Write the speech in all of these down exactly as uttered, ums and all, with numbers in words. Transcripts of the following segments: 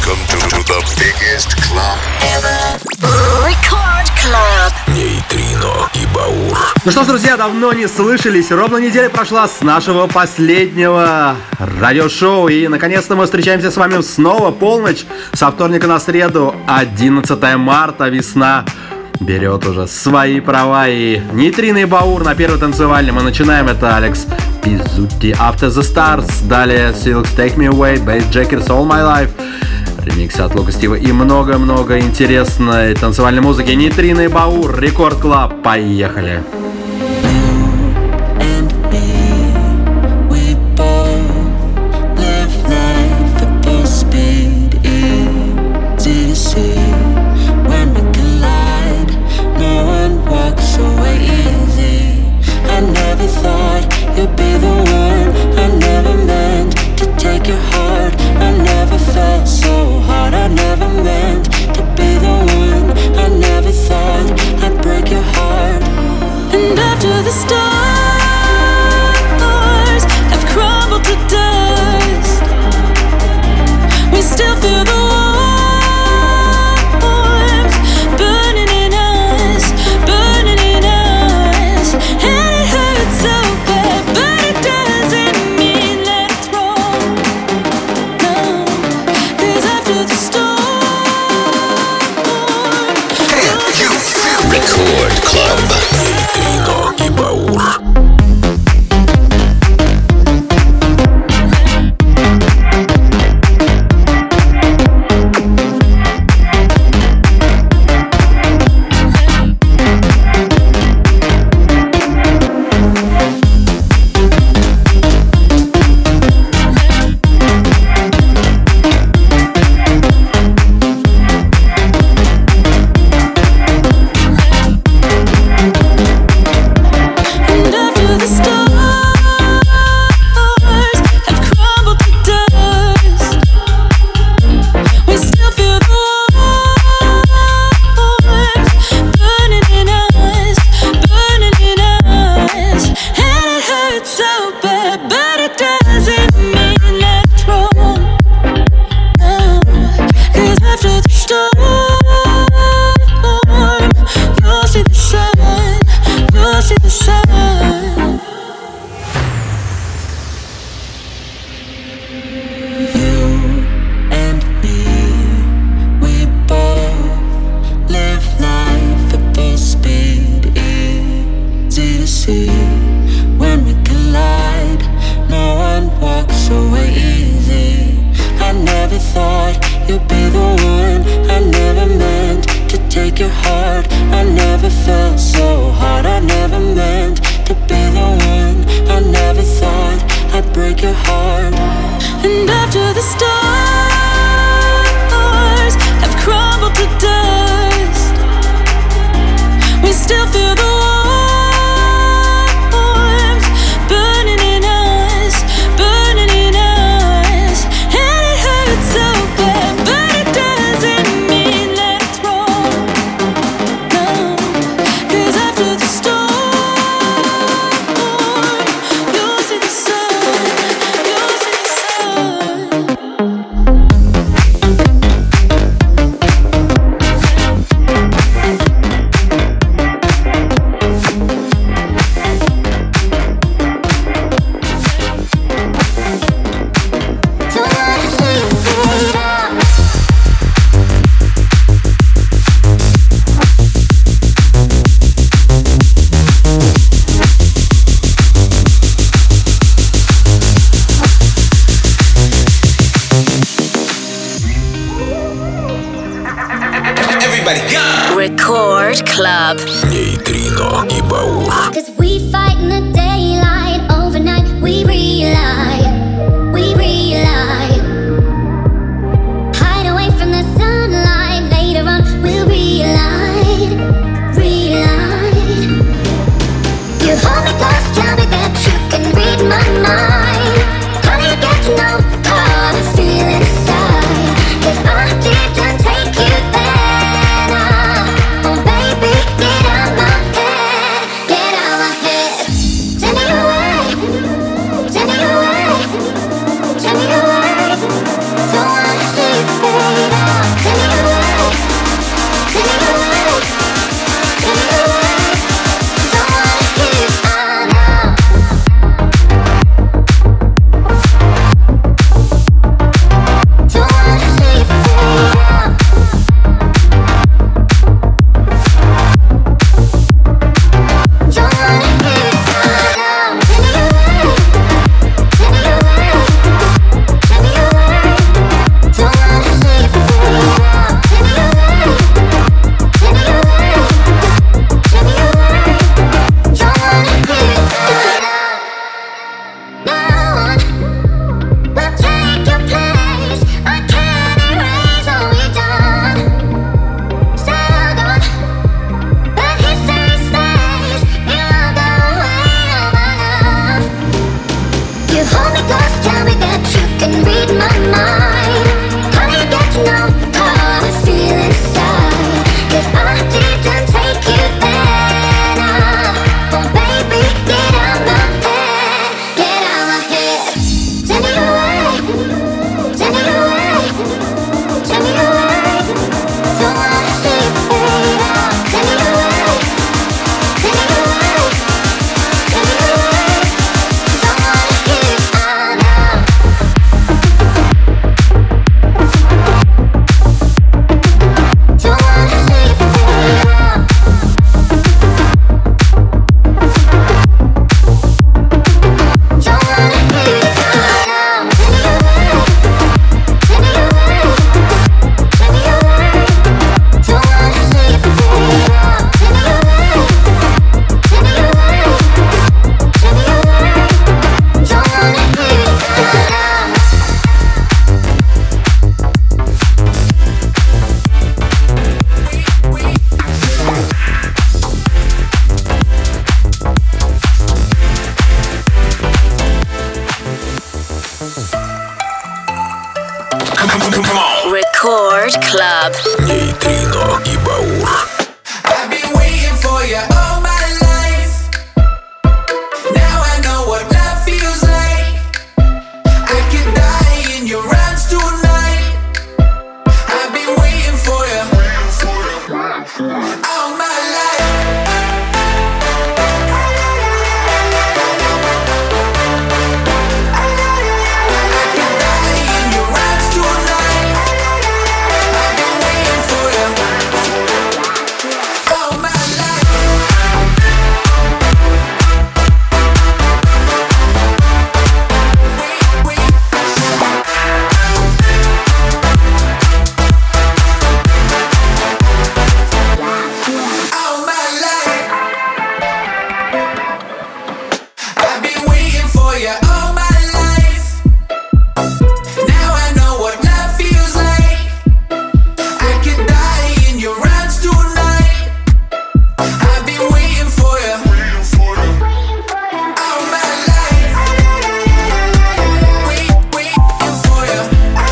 Welcome to, to the biggest club ever. Record Club. Нейтрино и Баур. Ну что ж, друзья, давно не слышались. Ровно неделя прошла с нашего последнего радиошоу. И, наконец-то, мы встречаемся с вами снова полночь. Со вторника на среду, одиннадцатое марта, весна берет уже свои права. И Нейтрино и Баур на первой танцевальной. Мы начинаем. Это Алекс Пиззути, After the Stars. Далее Silks, Take Me Away, Bass Jackers, All My Life. Ремиксы от Лука Стива и много-много интересной танцевальной музыки. Нейтрино и Баур, Рекорд Клаб. Поехали! Record Club. Нейтрино и Баур. Cause we fight in the daylight, overnight we relight, we relight. Hide away from the sunlight, later on we'll relight, relight. You hold me close, tell me that you can read my mind. How do you get to know how I feel inside? Cause I didn't take you there. Get out my head, get out my head. Record Club. Нейтрино и Баур. I've been waiting for you all my life. Now I know what love feels like. I could die in your arms tonight. I've been waiting for you all my life. I could die in your arms tonight. I've been waiting for you all my life. Wait, wait. All my life. I've been waiting for you all my life. Now I know what love feels like. I could die in your arms tonight. I've been waiting for you all my life. Wait, waiting for you.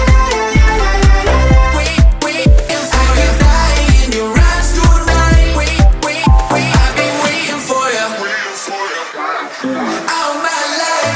Wait, waiting for you. I could die in your arms tonight. Wait, wait, wait. I've been waiting for you all my life.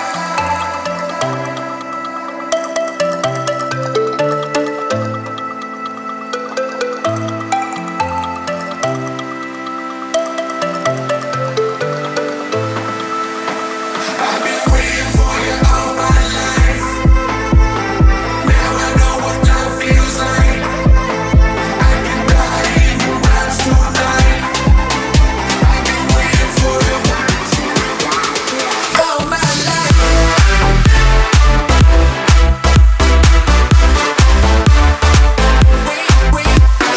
I've been waiting for you all my life. Now I know what love feels like. I can die in your arms tonight. I've been waiting for you all my life. Wait, wait.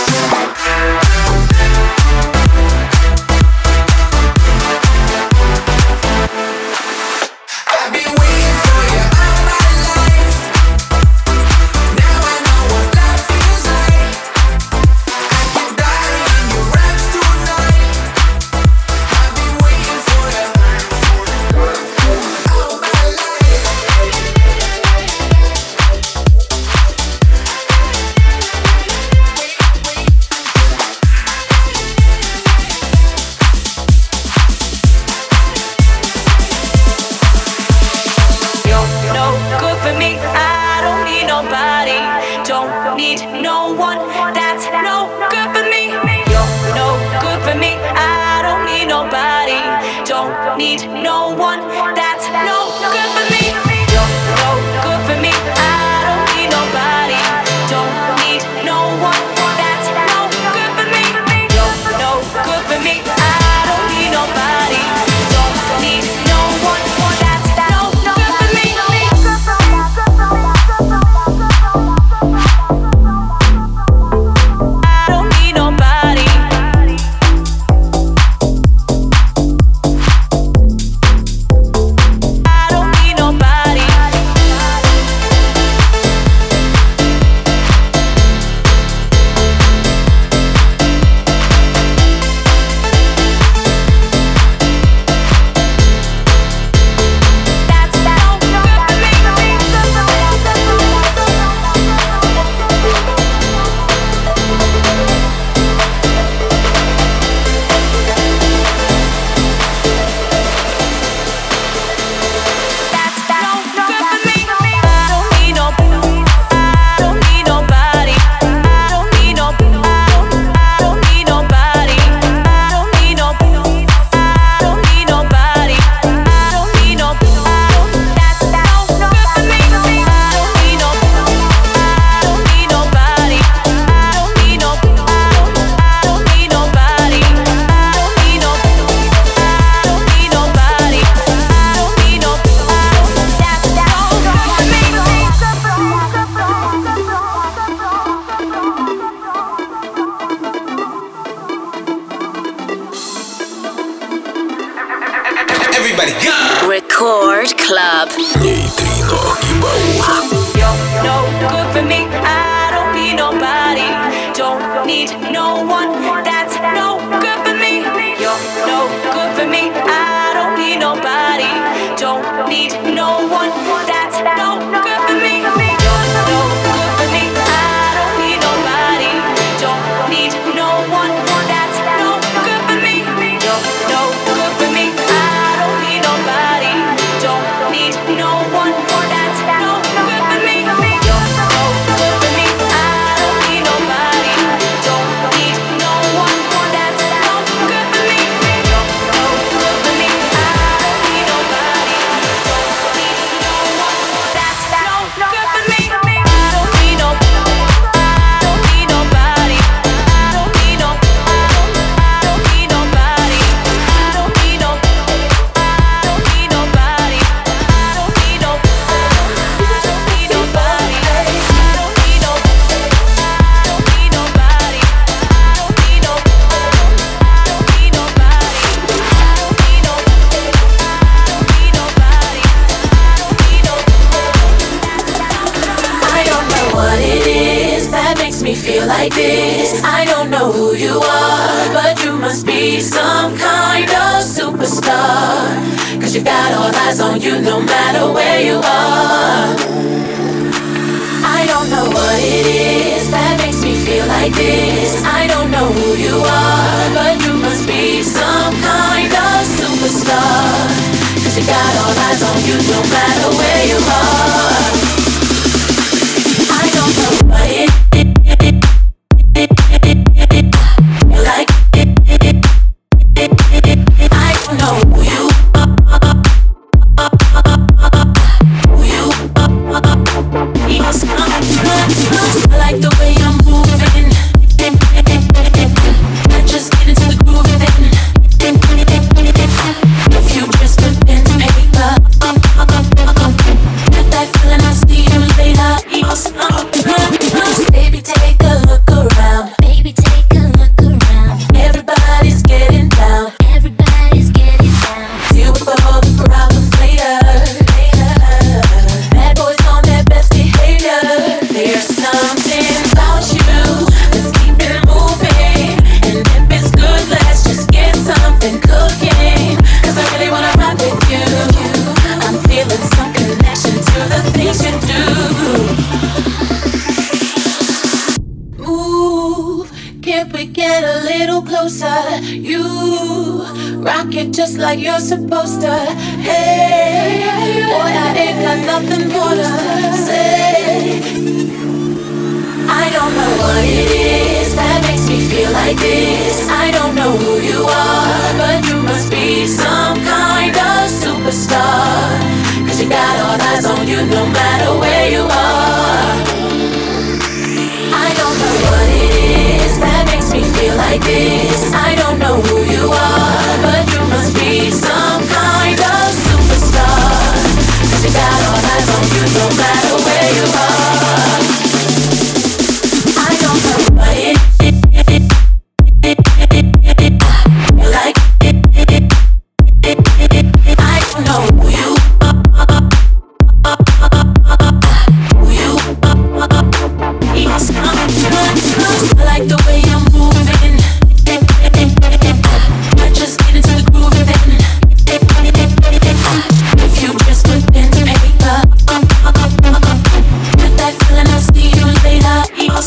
I've been waiting for you all my life. Now I know what love feels like. I can die in your arms tonight. I've been waiting for you all my life. You're no good for me. I don't need nobody. Don't need no one. That's no good for me. You're no good for me. I don't need nobody. Don't need no one. That's no good for me. You're no good for me. I don't need nobody. Don't need no one. That's no good for me. You're no good for me. I don't need nobody. Don't need no one. That's no good for me. I don't need nobody. I don't need nobody. That's no good for me. That's no good for me. I don't need no. I don't need nobody. I don't need no. I don't need nobody. I don't need no. I don't need nobody. I don't need no. That's no good for me. I don't need no. I don't need nobody. I don't need no. I don't need nobody. I don't need no. I don't need nobody. I don't need no. That's no Everybody go! Record Club. Нейтрино и Баур. You're no good for me. I don't need nobody. Don't need no one. That's no good for me. You're no good for me. I don't need nobody. Don't need no one. That's no good for me. You're no good me feel like this. I don't know who you are, but you must be some kind of superstar. Cause you got all eyes on you no matter where you are. I don't know what it is that makes me feel like this. I don't know who you are, but you must be some kind of superstar. Cause you got all eyes on you no matter where you are. I don't know what it is. Like I don't know who you are. Who you are. I like the way I'm moving. I just get into the groove then. If you just put pen to paper, get that feeling, I'll see you later. Baby, take a look around. Baby, take a look around. Everybody's getting down. Everybody's getting down. Deal with all the problems later. Bad boys on their best behavior. There's something about you. Let's keep it moving. And if it's good, let's just get something cooking. Cause I really wanna rock with you. I'm feeling some connection to the things you do. Move, can't we get a little closer? You rock it just like you're supposed to. Hey, boy, I ain't got nothing more to say. I don't know what it is that makes me feel like this. I don't know who you are, but you must be some kind of superstar. Cause you got all eyes on you no matter where you are. I don't know what it is that makes me feel like this. I don't know who you are, but you must be some kind of superstar. Cause you got all eyes on you no matter where you are. I don't know what it is. Like I don't know who you are. Who you are. I like the way I'm moving. I just get into the groove then. If you just put pen to paper, get that feeling, I'll see you later.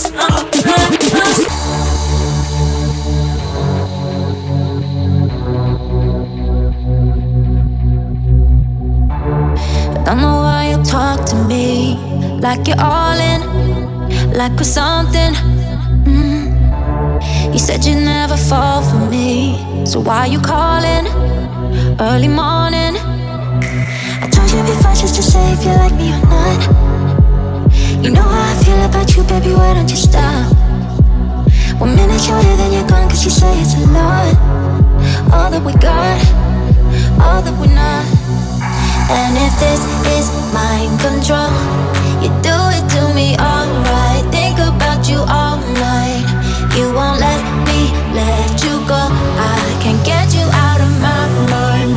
Don't know why you talk to me like you're all in, like we're something. Mm. You said you'd never fall for me, so why you calling early morning? I told you before just to say if you like me or not. You know how I feel about you, baby, why don't you stop? One minute you're here, then you're gone, cause you say it's a lot. All that we got, all that we're not. And if this is mind control, you do it to me alright. Think about you all night. You won't let me let you go. I can't get you out of my mind.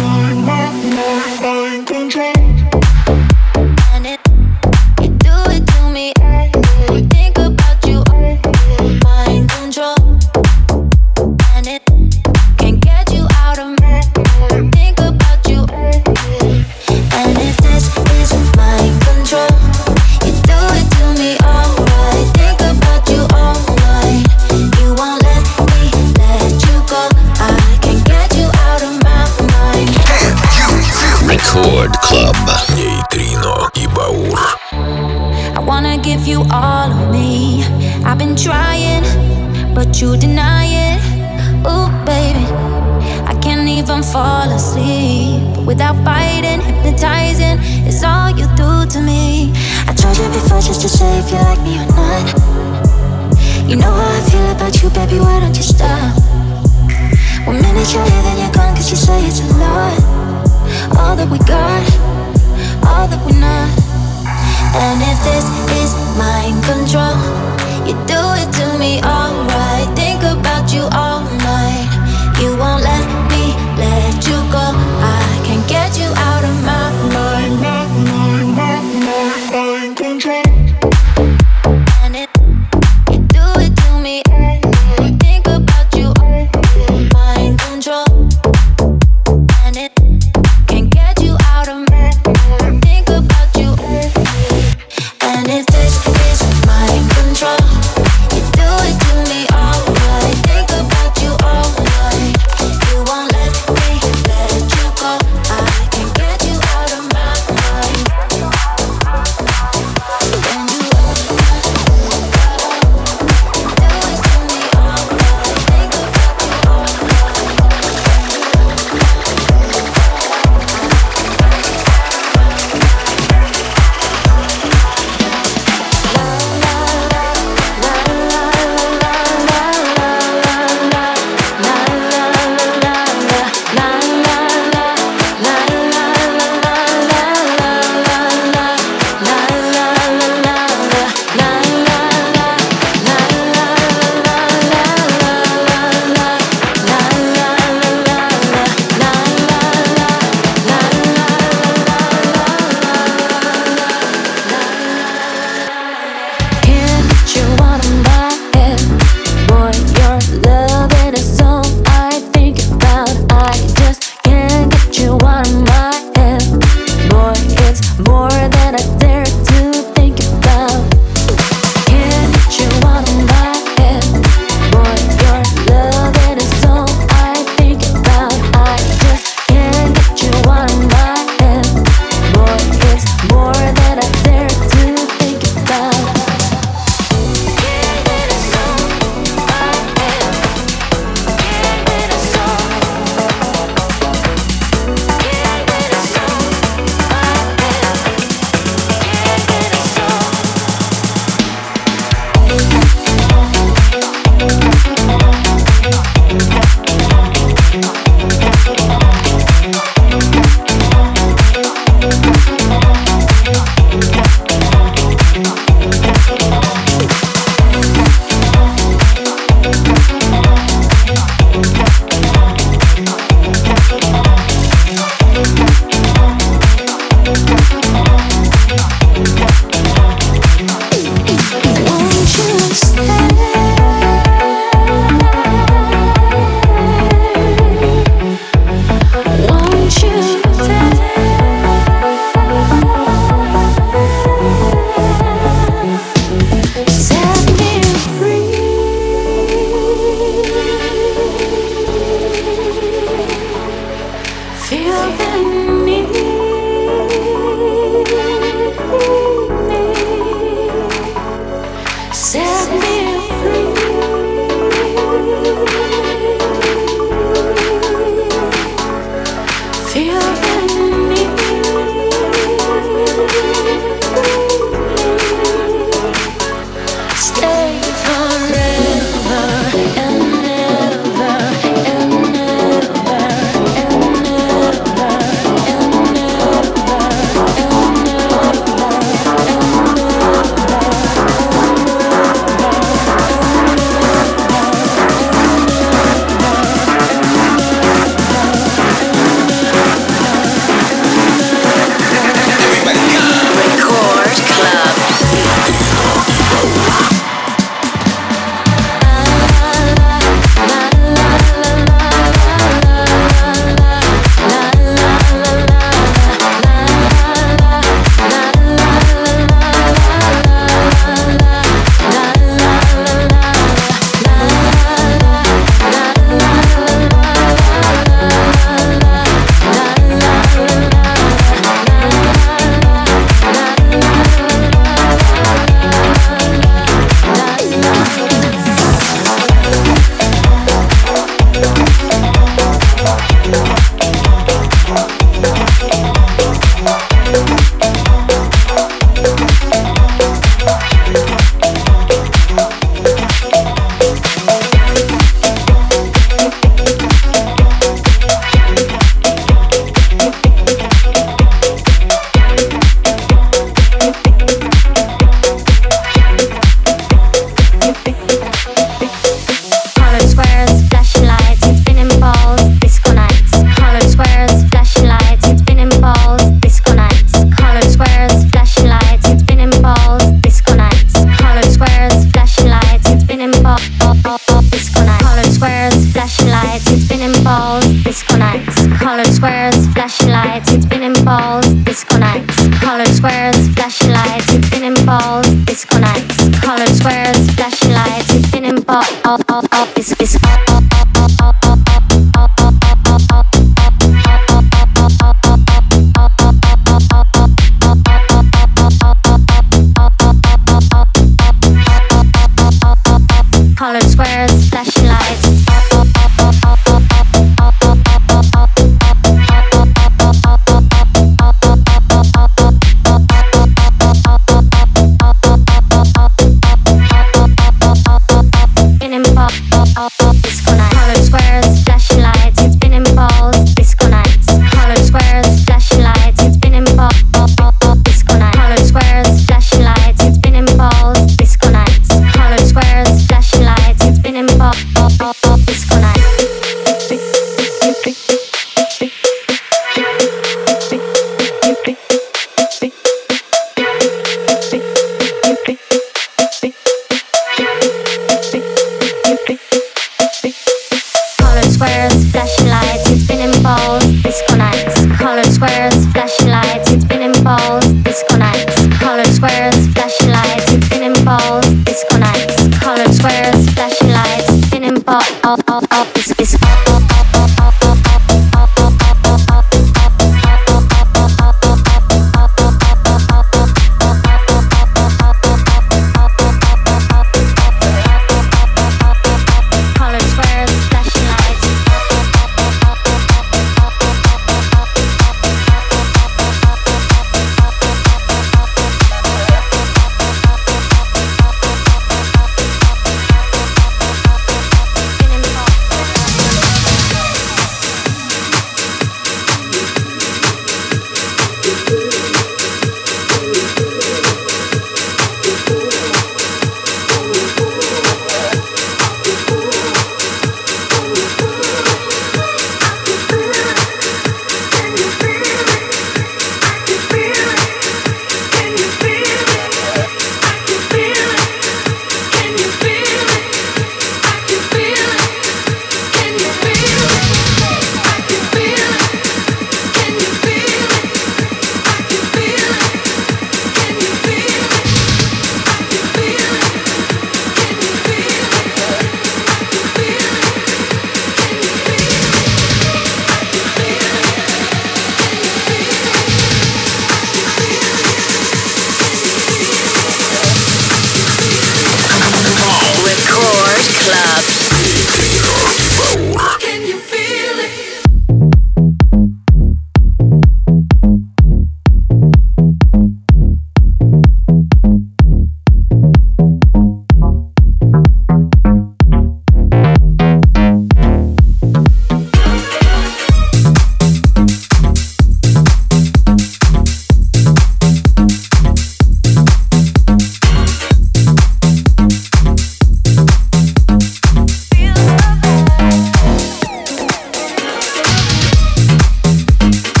Mind control. And it, you do it to me. Think about you, mind control. And it can't get you out of my mind. Think about you. And if this is mind control, you do it to me alright. Think about you all night. You won't let me let you go. I can't get you out of my mind. Record Club. Нейтрино и Баур. I wanna give you all of me. I've been trying, but you deny it. Ooh, baby, I can't even fall asleep without fighting. Hypnotizing is all you do to me. I told you before just to say if you like me or not. You know how I feel about you, baby, why don't you stop? One minute you're here, then you're gone, cause you say it's a lot. All that we got, all that we're not. And if this is mind control, you do it to me alright. Think about you all night. You won't let me let you go. I can't get you out of my mind. Mind control. And it, you it's, it's colored squares, flashing lights. In and pop, it's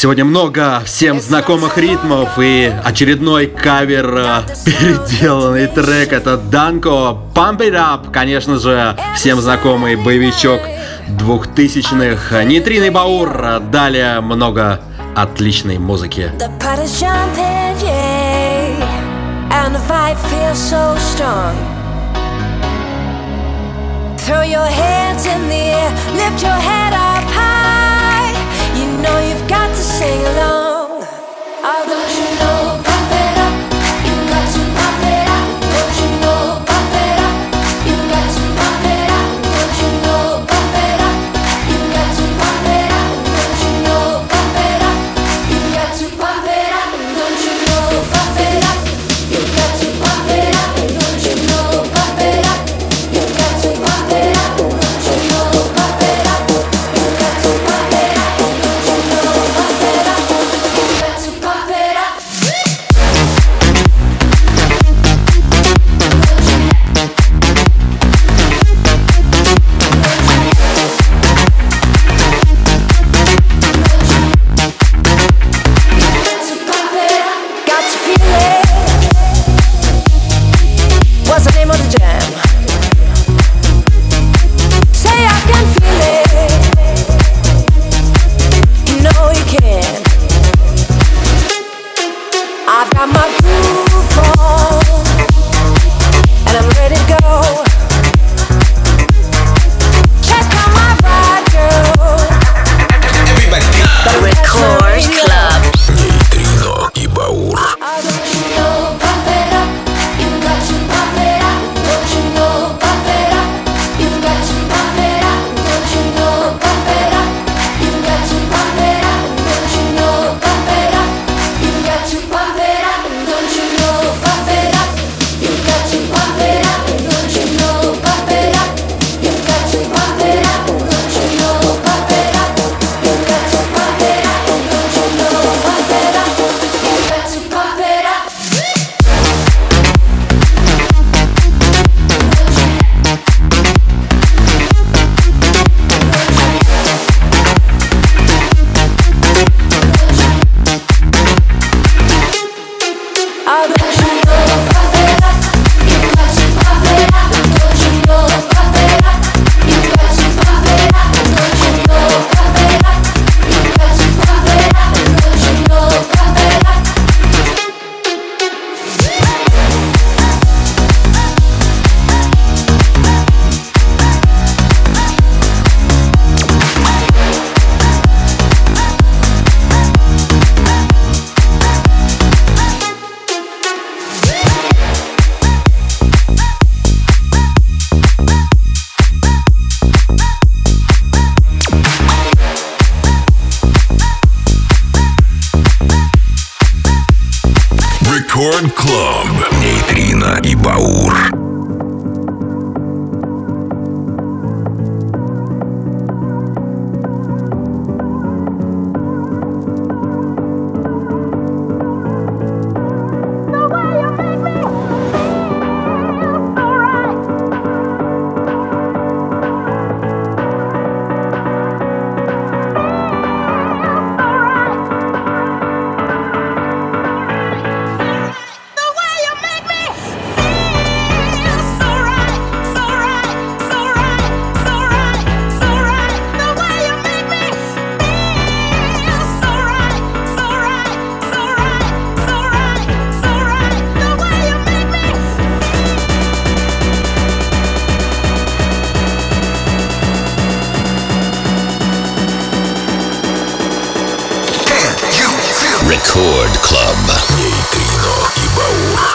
Сегодня много всем знакомых ритмов и очередной кавер, переделанный трек. Это Данко, Pump It Up, конечно же, всем знакомый боевичок двухтысячных, Нейтрино и Баур. Далее много отличной музыки. Throw your hands in the air, lift your head up high. You know you've got to sing along. Oh, don't you know, pump it up. You've got to pump it up. Don't you know, pump it up. You've got to pump it up. Don't you know, pump it up. You've got to pump it up. Don't you know, pump it up. You've got to pump it up. Don't you know, pump it up. You've got to pump it up. Don't you know, pump it up. You've got to pump it up. Don't you know, pump it up. You've got to pump it up. Don't you know, pump it up. You've got to pump it up. Got to feel it. What's the name of the jam? Say I can feel it. You know you can. I've got my groove on, and I'm ready to go. Check out my ride, girl. The Record Club. Нейтрино и Баур. Oh, don't you know, pump it up. You've got to pump it up. Don't you know, pump it up. You've got to pump it up. Don't you know, pump it up. You've got to pump it up. Don't you know, pump it up. You've got to pump it up. Don't you know, pump it up. You've got to pump it up. Don't you know, pump it up. You've got to pump it up. Don't you know, pump it up. You've got to pump it up. Don't you know, pump it up. You've got to pump it up. Oh, don't you know, pump it up. You've got to pump it up. Don't you know, pump it up. You've got to pump it up. Don't you know, pump it up. You've got to pump it up. Don't you know, pump it up. Record Club. Нейтрино и Баур. Record Club. Нейтрино и Баур.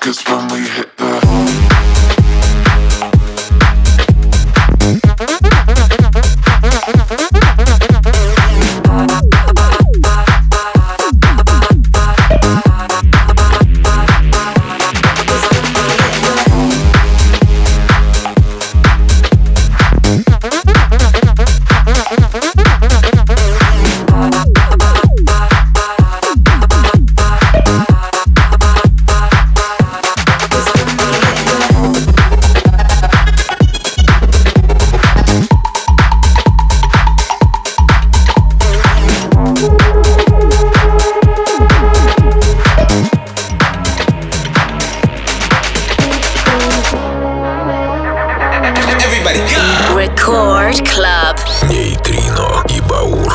'Cause when we hit the Record Club. Нейтрино и Баур.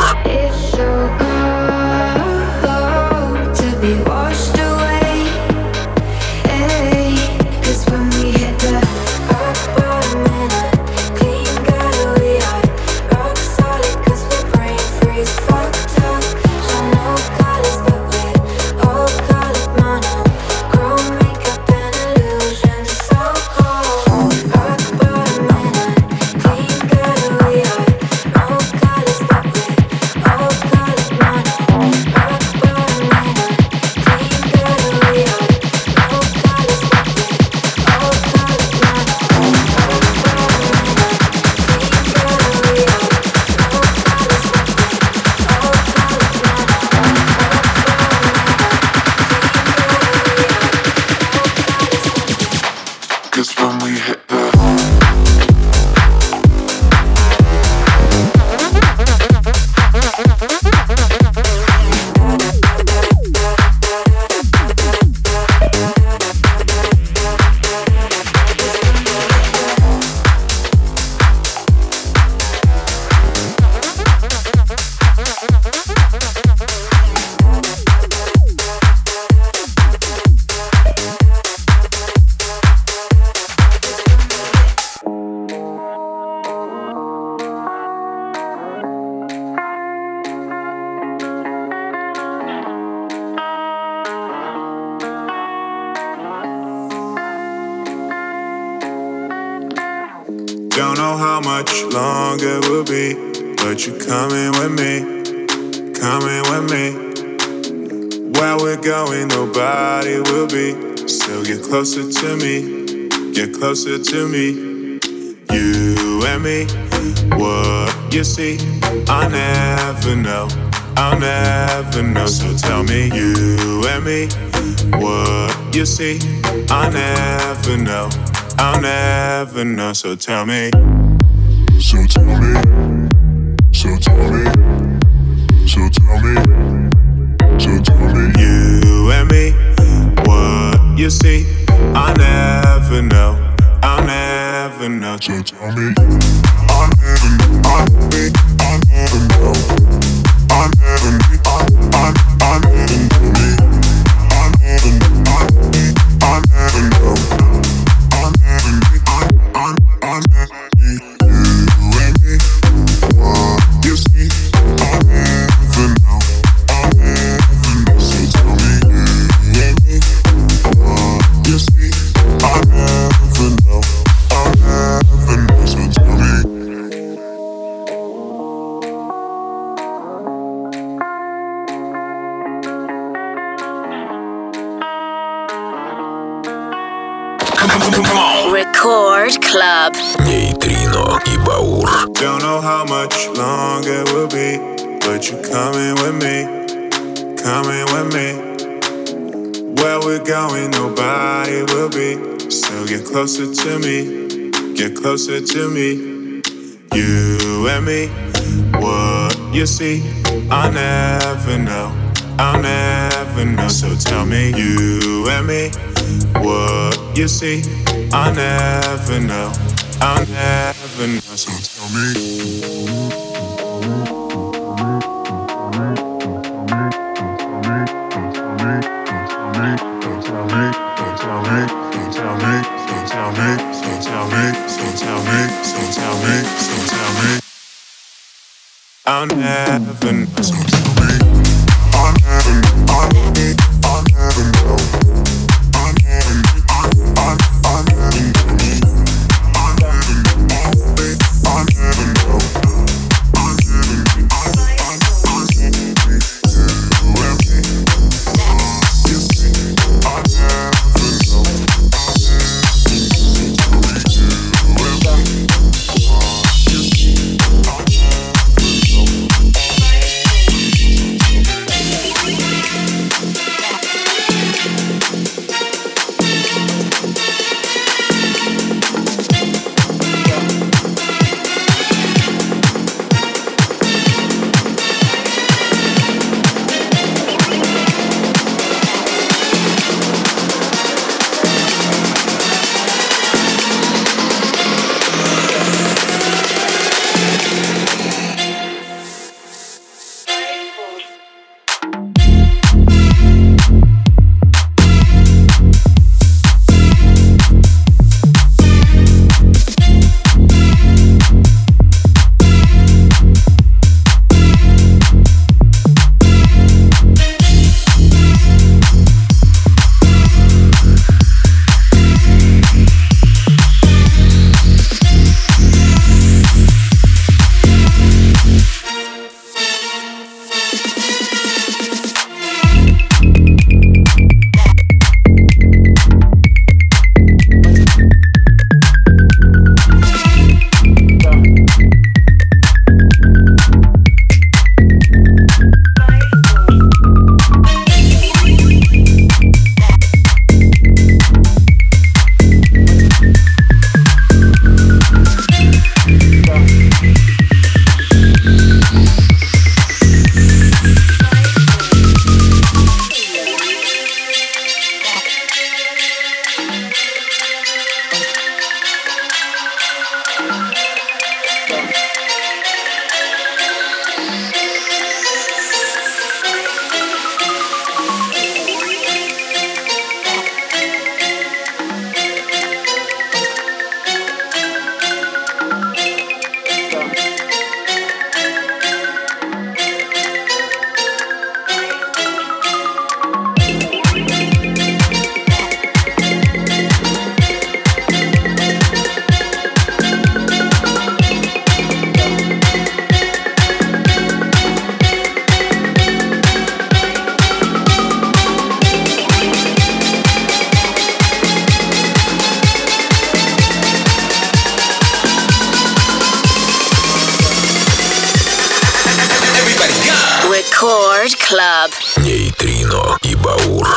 Don't know how much longer it will be, but you're coming with me, coming with me. Where we're going, nobody will be. So get closer to me, get closer to me. You and me, what you see, I never know, I'll never know. So tell me, you and me, what you see, I never know, I'll never know. So tell me. So tell me. So tell me. So tell me. So tell me. You and me, what you see, I never know, I'll never know. So tell me. I never know. I never know. I never know. I I never know me. I never know. I never know. I never know. I I never you and me. What you see, I never know. I never know. So tell me, you and me. What you see, I never know. I never know. So tell me. Record Club. Нейтрино и Баур. Don't know how much longer it will be, but you're coming with me, coming with me. Where we're going, nobody will be. So get closer to me, get closer to me. You and me, what you see, I never know, I'll never know. So tell me, you and me, what you see, I never know, I'll never know. So tell me. I'll never know. So tell me. I never know. I never know. I never know. Club. Нейтрино и Баур.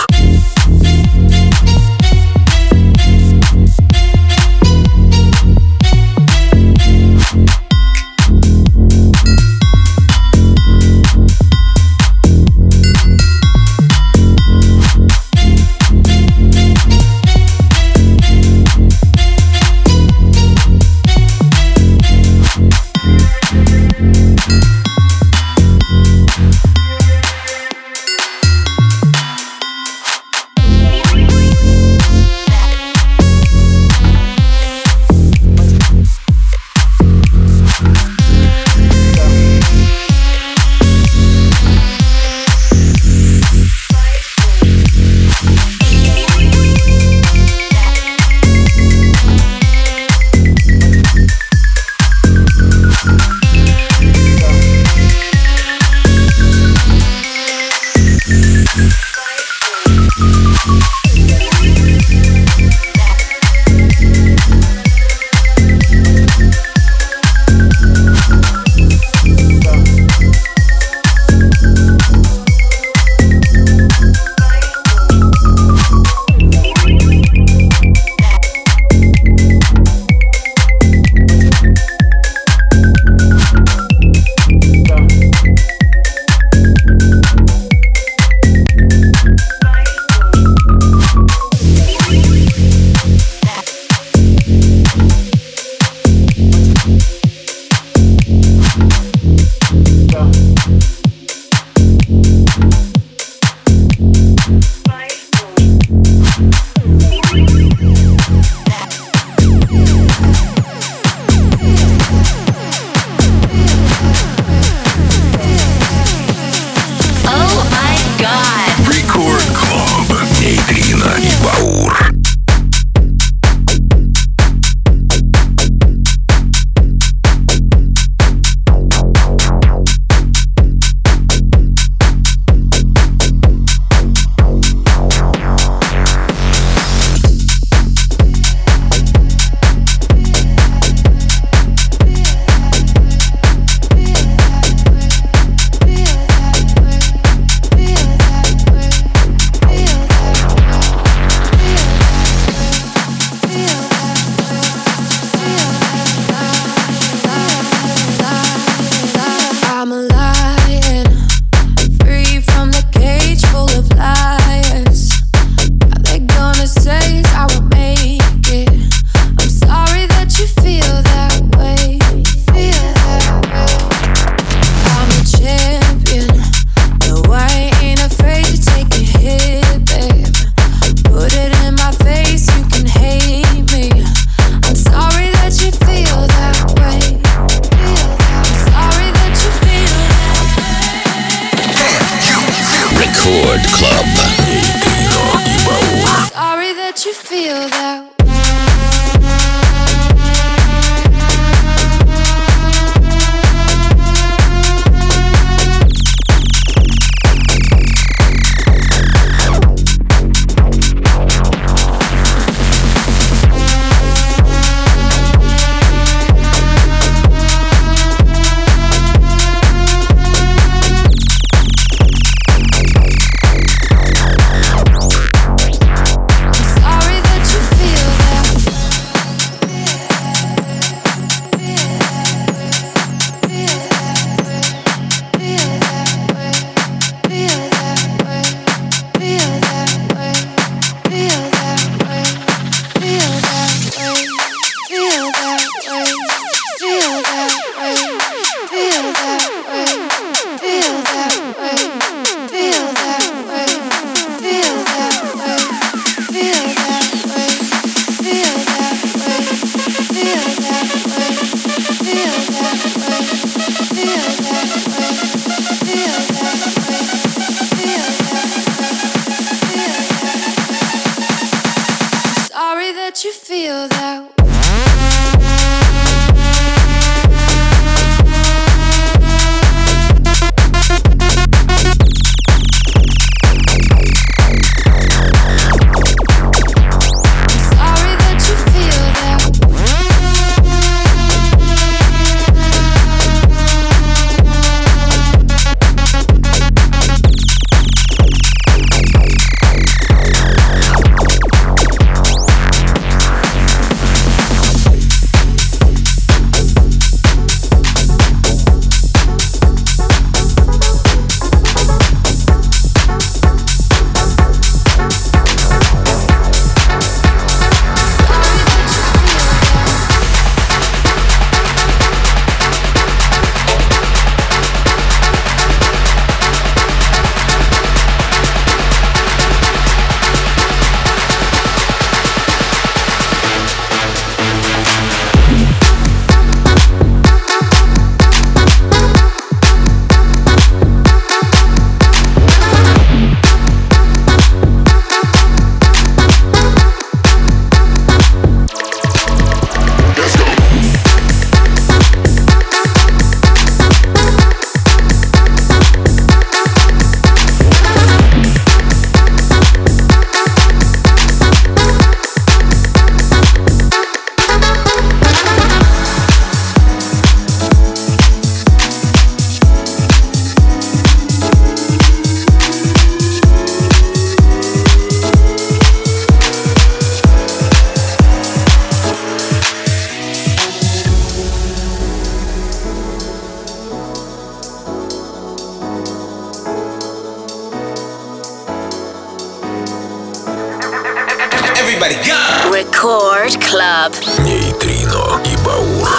Everybody go! Record Club. Нейтрино и Баур.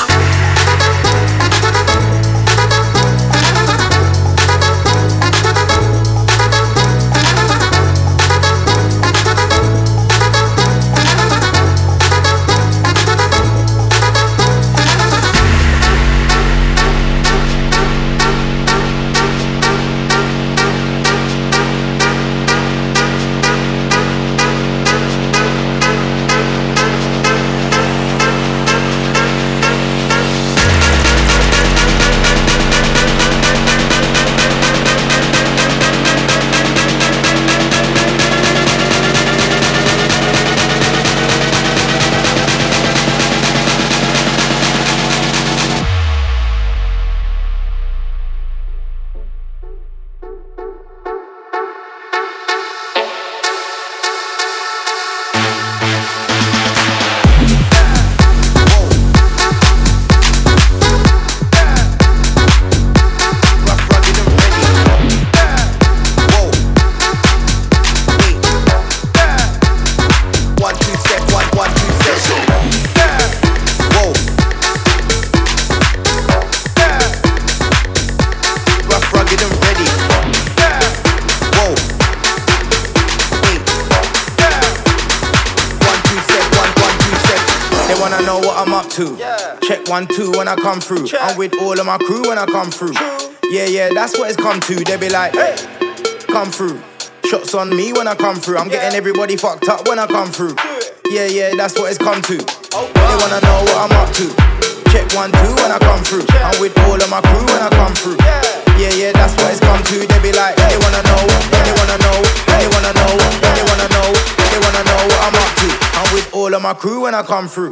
Check one, two when I come through. Check. I'm with all of my crew when I come through. True. Yeah, yeah, that's what it's come to. They be like, hey, come through. Shots on me when I come through. I'm yeah. getting everybody fucked up when I come through. Yeah, yeah, that's what it's come to. Oh, they wanna know what I'm up to. Check one, two when I come through. Check. I'm with all of my crew when I come through. Yeah, yeah, yeah, that's what it's come to. They be like, they wanna know, they wanna know, they wanna know, they wanna know, they wanna know what I'm up to. I'm with all of my crew when I come through.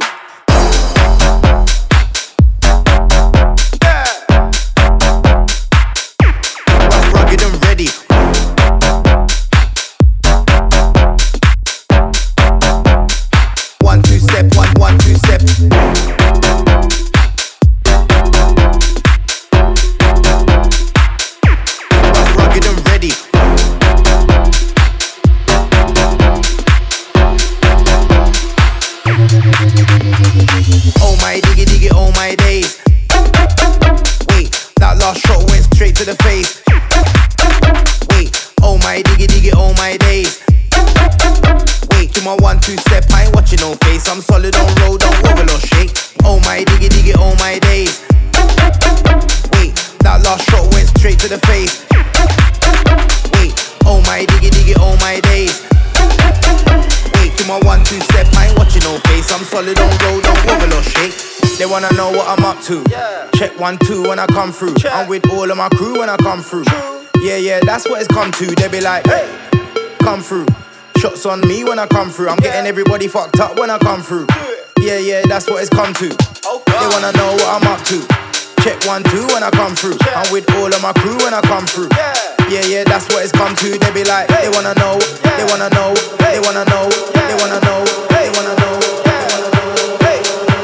I'm solid on road, don't wobble or shake. Oh my diggy diggy, oh my days. Wait, that last shot went straight to the face. Wait, oh my diggy diggy, oh my days. Wait, to my one two step, I ain't watching no face. I'm solid on road, don't wobble or shake. They wanna know what I'm up to. Check one two when I come through. I'm with all of my crew when I come through. Yeah, yeah, that's what it's come to. They be like, hey, come through. Shots on me when I come through. I'm getting everybody fucked up when I come through. Yeah, yeah, that's what it's come to. They wanna know what I'm up to. Check one, two when I come through. I'm with all of my crew when I come through. Yeah, yeah, that's what it's come to. They be like, they wanna know, they wanna know, they wanna know, they wanna know, they wanna know, they wanna know. Hey.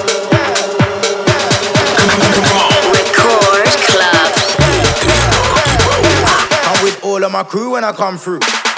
Record Club. I'm with all of my crew when I come through.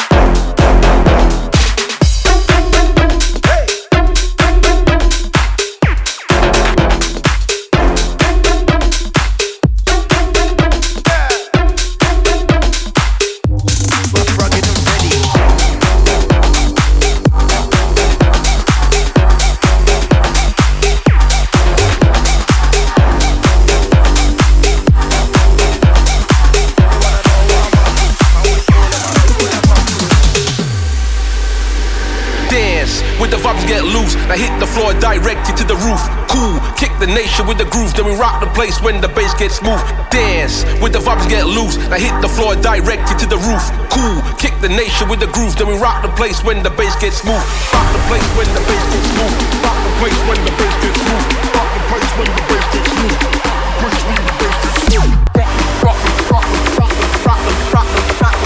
Get loose, now hit the floor directed to the roof. Cool, kick the nation with the groove, then we rock the place when the bass gets smooth. Dance, with the vibes get loose, now hit the floor directed to the roof. Cool, kick the nation with the groove, then we rock the place when the bass gets smooth. Rock the place when the bass gets smooth. Rock the place when the bass gets smooth. Rock the place when the bass gets smooth. Place when the bass gets smooth. Rock the, rock the, rock the, rock the, rock the, rock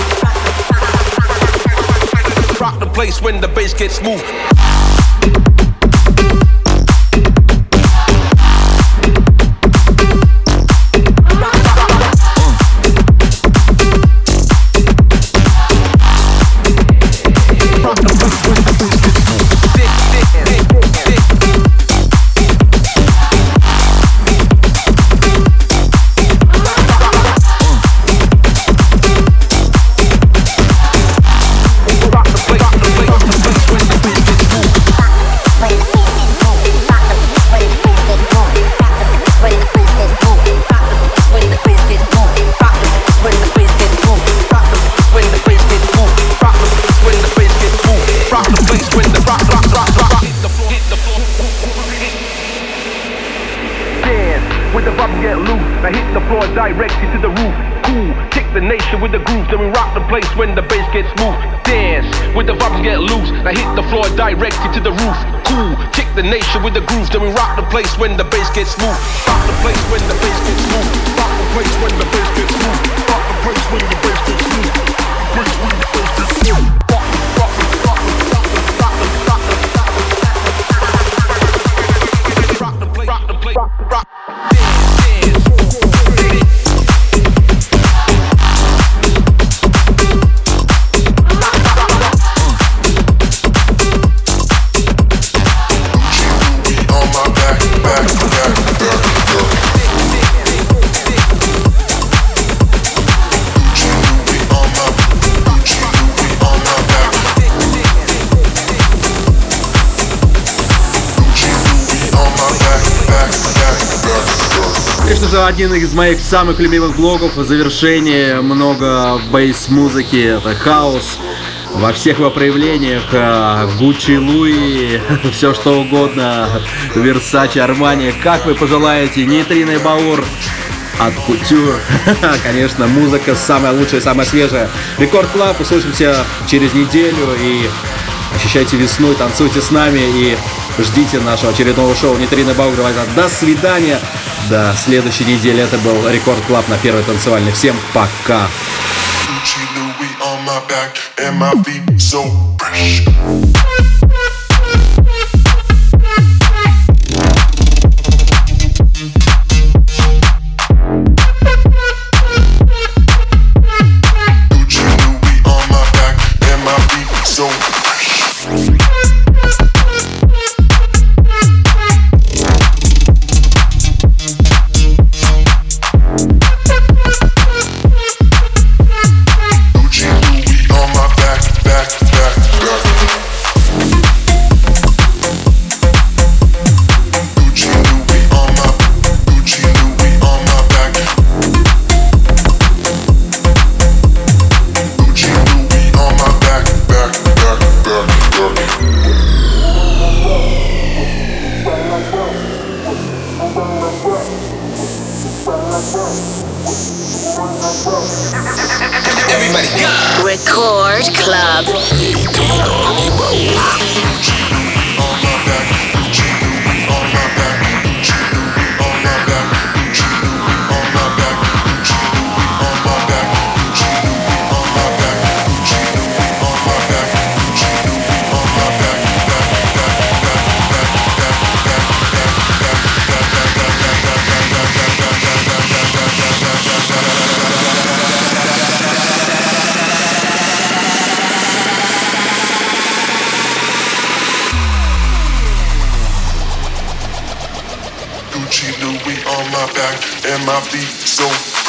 the, rock the place when the bass gets smooth. place when the bass gets smooth. Dance with the vibes get loose. Now hit the floor directly to the roof. Cool, kick the nation with the grooves. Then we rock the place when the bass gets smooth. Rock the place when the bass gets smooth. Rock the place when the bass gets smooth. Rock the place when the bass gets smooth. Place when the bass gets smooth. Rock, rock, rock, rock, rock, rock, rock, rock the place, rock the place, rock, rock. Конечно же, один из моих самых любимых блогов в завершении много бейс-музыки, это хаос во всех его проявлениях, Гуччи, Луи, все что угодно, Версачи, Армани, как вы пожелаете, Нейтрино и Баур от Кутюр. Конечно, музыка самая лучшая, самая свежая. Рекорд Клаб, услышимся через неделю и ощущайте весну, танцуйте с нами и ждите нашего очередного шоу Нейтрино и Баур. До свидания. До следующей недели. Это был Рекорд Клаб на Первой танцевальной. Всем пока. Record Club. Нейтрино и Баур. Gucci, Louis on my back, and my feet so